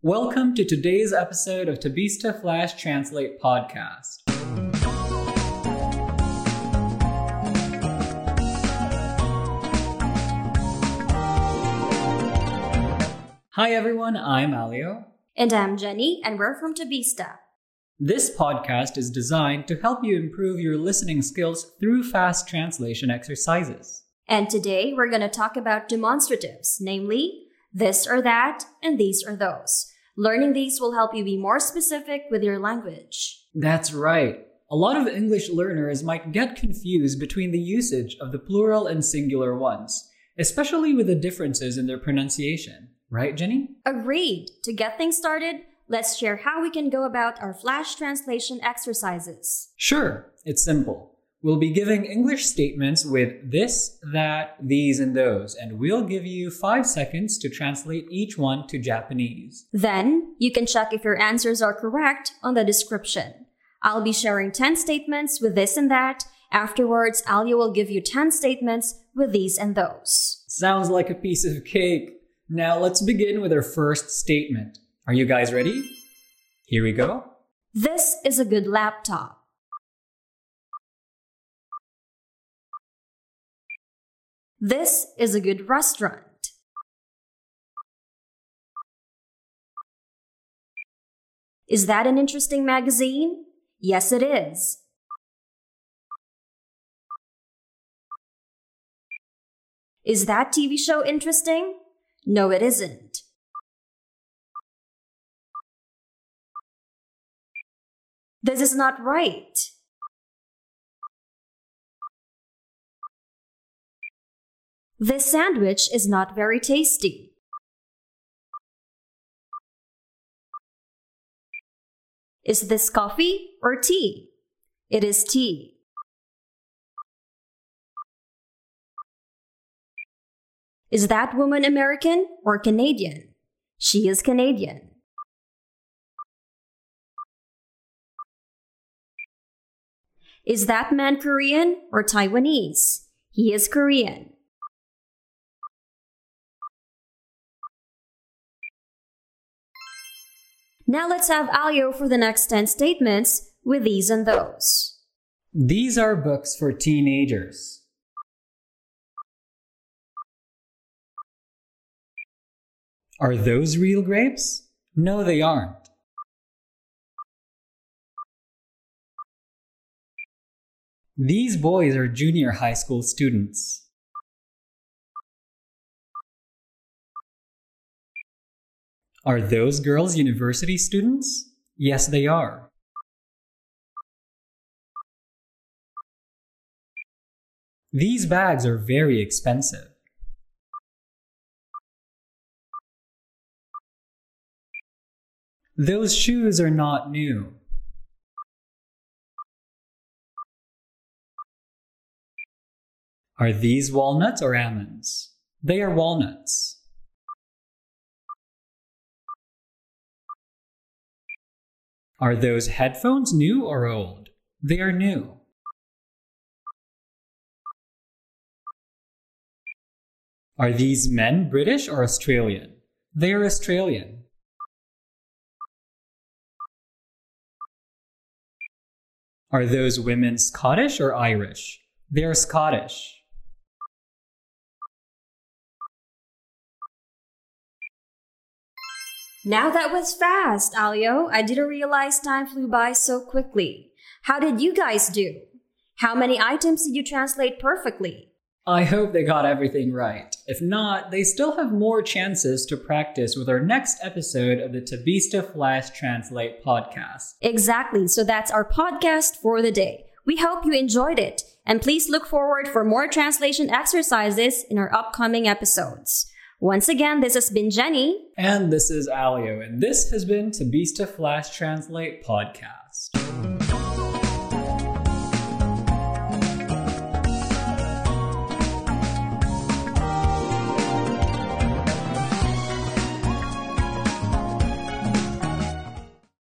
Welcome to today's episode of Tabista Flash Translate podcast. Hi everyone, I'm Alio. And I'm Jenny, and we're from Tabista. This podcast is designed to help you improve your listening skills through fast translation exercises. And today we're going to talk about demonstratives, namely, this or that, and these or those. Learning these will help you be more specific with your language. That's right. A lot of English learners might get confused between the usage of the plural and singular ones, especially with the differences in their pronunciation. Right, Jenny? Agreed. To get things started, let's share how we can go about our flash translation exercises. Sure, it's simple. We'll be giving English statements with this, that, these, and those, and we'll give you 5 seconds to translate each one to Japanese. Then, you can check if your answers are correct on the description. I'll be sharing 10 statements with this and that. Afterwards, Alio will give you 10 statements with these and those. Sounds like a piece of cake. Now let's begin with our first statement. Are you guys ready? Here we go. This is a good laptop. This is a good restaurant. Is that an interesting magazine? Yes, it is. Is that TV show interesting? No, it isn't. This is not right. This sandwich is not very tasty. Is this coffee or tea? It is tea. Is that woman American or Canadian? She is Canadian. Is that man Korean or Taiwanese? He is Korean. Now let's have Alio for the next 10 statements with these and those. These are books for teenagers. Are those real grapes? No, they aren't. These boys are junior high school students. Are those girls university students? Yes, they are. These bags are very expensive. Those shoes are not new. Are these walnuts or almonds? They are walnuts. Are those headphones new or old? They are new. Are these men British or Australian? They are Australian. Are those women Scottish or Irish? They are Scottish. Now that was fast, Alio. I didn't realize time flew by so quickly. How did you guys do? How many items did you translate perfectly? I hope they got everything right. If not, they still have more chances to practice with our next episode of the Tabista Flash Translate podcast. Exactly, so that's our podcast for the day. We hope you enjoyed it, and please look forward for more translation exercises in our upcoming episodes. Once again, this has been Jenny. And this is Alio, and this has been Tabista Flash Translate podcast.